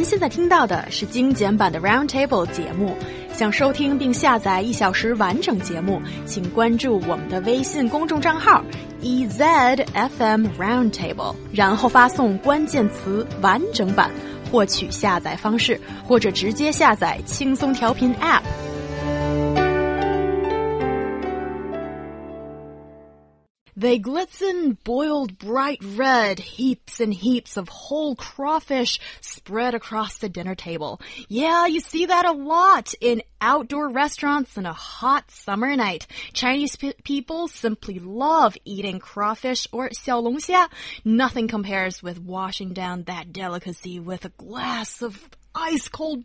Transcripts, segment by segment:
现在听到的是精简版的 Roundtable 节目。想收听并下载1小时完整节目，请关注我们的微信公众账号 EZFM Roundtable， 然后发送关键词完整版获取下载方式，或者直接下载轻松调频 App。They glisten, boiled bright red, heaps and heaps of whole crawfish spread across the dinner table. Yeah, you see that a lot in outdoor restaurants on a hot summer night. Chinese people simply love eating crawfish or 小龙虾. Nothing compares with washing down that delicacy with a glass of ice-cold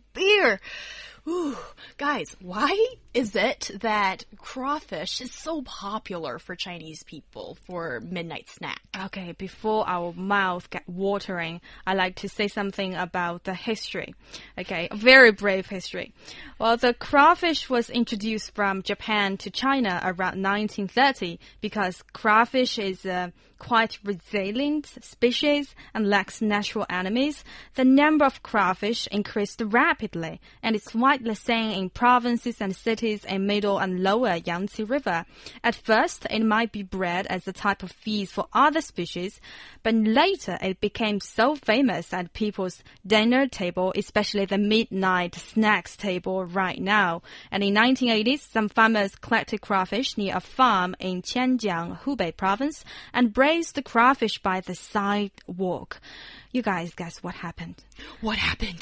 beer.Ooh, guys, why is it that crawfish is so popular for Chinese people for midnight snack? Okay, before our mouth get watering, I like to say something about the history. Okay, a very brave history. Well, the crawfish was introduced from Japan to China around 1930 because crawfish is a quite resilient species and lacks natural enemies. The number of crawfish increased rapidly, and it's widely seen in provinces and cities in middle and lower Yangtze River. At first, it might be bred as a type of feast for other species, but later it became so famous at people's dinner table, especially the midnight snacks table right now. And in 1980s, some farmers collected crawfish near a farm in Qianjiang, Hubei province, and braised the crawfish by the sidewalk. You guys guess what happened? What happened?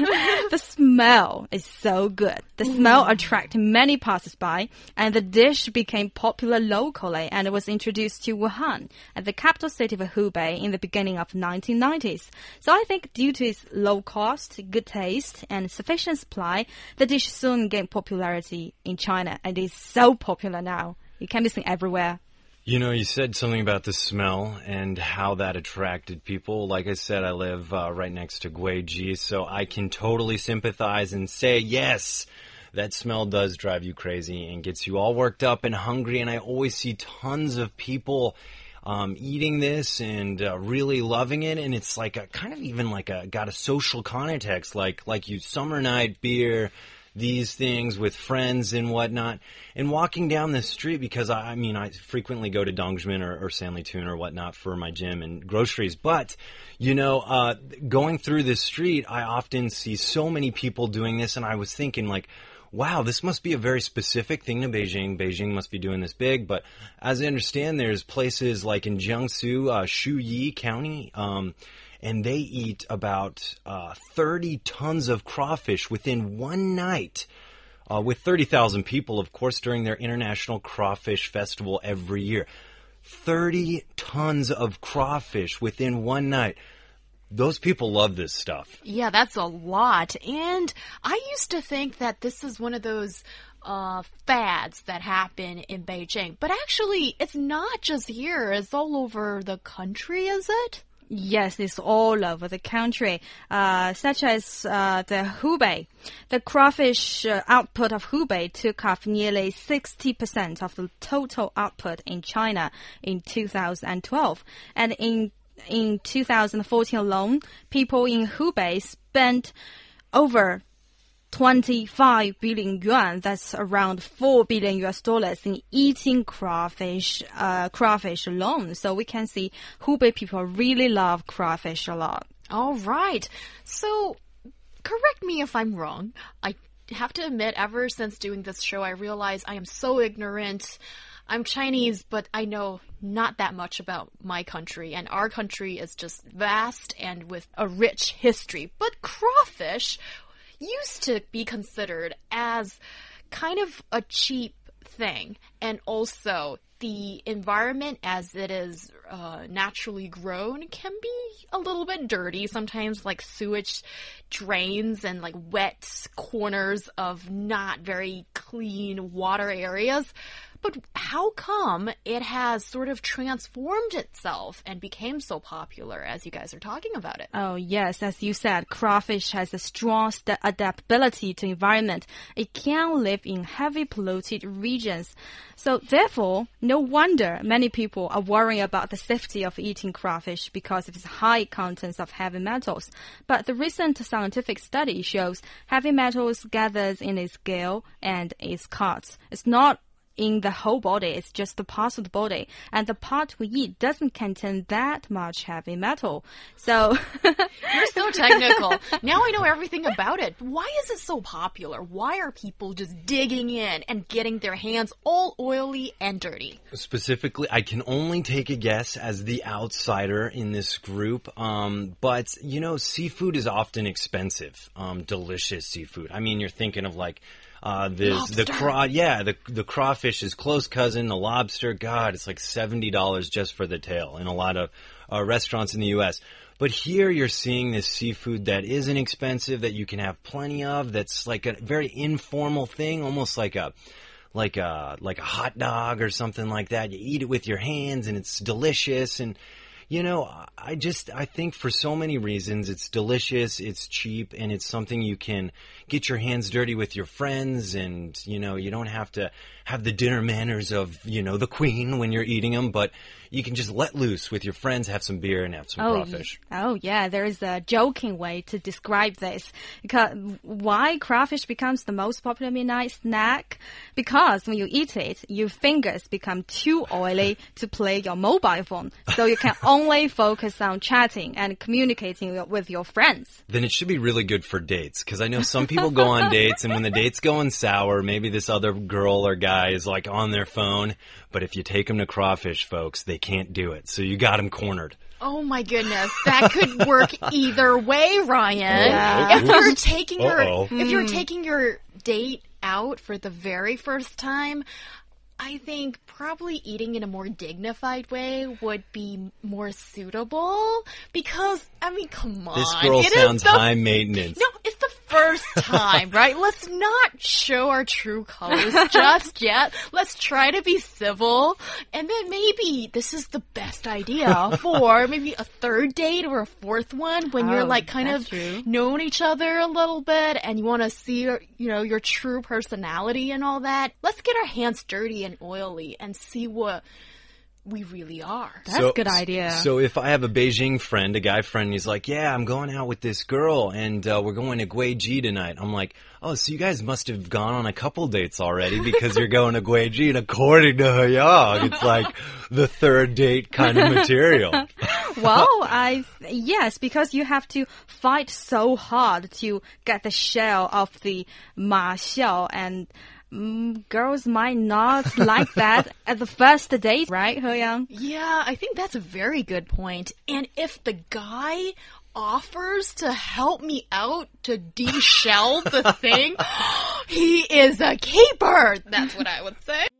The smell is so good. The smell attracted many passers-by, and the dish became popular locally, and it was introduced to Wuhan, at the capital city of Hubei, in the beginning of 1990s. So I think due to its low cost, good taste, and sufficient supply, the dish soon gained popularity in China, and is so popular now. It can be seen everywhere. You know, you said something about the smell and how that attracted people. Like I said, I live right next to Guiji, so I can totally sympathize and say, yes, that smell does drive you crazy and gets you all worked up and hungry. And I always see tons of people eating this and really loving it. And it's like a kind of even like got a social context, like you summer night beer, these things with friends and whatnot, and walking down the street, because I frequently go to Dongzhimen or Sanlitun or whatnot for my gym and groceries, but you know, going through this street, I often see so many people doing this, and I was thinking like, wow, this must be a very specific thing to Beijing. Beijing must be doing this big, but as I understand, there's places like in Jiangsu, Shuyi County, and they eat about 30 tons of crawfish within one night, with 30,000 people, of course, during their International Crawfish Festival every year. 30 tons of crawfish within one night. Those people love this stuff. Yeah, that's a lot. And I used to think that this is one of those fads that happen in Beijing. But actually, it's not just here. It's all over the country, is it? Yes, it's all over the country, such as the Hubei. The crawfish output of Hubei took off nearly 60% of the total output in China in 2012. And in 2014 alone, people in Hubei spent over 25 billion yuan, that's around $4 billion in eating crawfish alone. So we can see Hubei people really love crawfish a lot. All right. So correct me if I'm wrong. I have to admit, ever since doing this show, I realize I am so ignorant. I'm Chinese, but I know not that much about my country, and our country is just vast and with a rich history. But crawfish used to be considered as kind of a cheap thing, and also the environment as it is naturally grown can be a little bit dirty sometimes, like sewage drains and like wet corners of not very clean water areas. But how come it has sort of transformed itself and became so popular as you guys are talking about it? Oh, yes. As you said, crawfish has a strong adaptability to environment. It can live in heavy polluted regions. So therefore, no wonder many people are worrying about the safety of eating crawfish because of its high contents of heavy metals. But the recent scientific study shows heavy metals gathered in its gill and its cuts. It's not in the whole body, it's just the parts of the body. And the part we eat doesn't contain that much heavy metal. So you're so technical. Now I know everything about it. Why is it so popular? Why are people just digging in and getting their hands all oily and dirty? Specifically, I can only take a guess as the outsider in this group. But, you know, seafood is often expensive. Delicious seafood. I mean, you're thinking of like the crawfish's close cousin, the lobster. God, it's like $70 just for the tail in a lot of restaurants in the U.S. But here you're seeing this seafood that isn't expensive, that you can have plenty of. That's like a very informal thing, almost like a hot dog or something like that. You eat it with your hands, and it's delicious. And you know, I think for so many reasons, it's delicious, it's cheap, and it's something you can get your hands dirty with your friends, and, you know, you don't have to have the dinner manners of, you know, the queen when you're eating them, but you can just let loose with your friends, have some beer, and have some crawfish. Oh, yeah, there is a joking way to describe this. Because why crawfish becomes the most popular midnight snack? Because when you eat it, your fingers become too oily to play your mobile phone. So you can only focus on chatting and communicating with your friends. Then it should be really good for dates. Because I know some people go on dates, and when the date's going sour, maybe this other girl or guy is like on their phone. But if you take them to crawfish, folks, they can't do it. So you got them cornered. Oh my goodness, that could work either way, Ryan. Yeah. If you're taking your date out for the very first time, I think probably eating in a more dignified way would be more suitable because, I mean, come on. This girl sounds high maintenance. No, it's the first time, right? Let's not show our true colors just yet. Let's try to be civil. And then maybe this is the best idea for maybe a third date or a fourth one when you're like kind of knowing each other a little bit and you want to see, you know, your true personality and all that. Let's get our hands dirty and oily and see what we really are. That's a good idea. So if I have a Beijing friend, a guy friend, and he's like, yeah, I'm going out with this girl, and we're going to Guiji tonight. I'm like, oh, so you guys must have gone on a couple dates already because you're going to Guiji. And according to Heyang, it's like the third date kind of material. Well, yes, because you have to fight so hard to get the shell of the ma xiao, and girls might not like that at the first date, right, Heyang? Yeah, I think that's a very good point. And if the guy offers to help me out to de-shell the thing, he is a keeper. That's what I would say.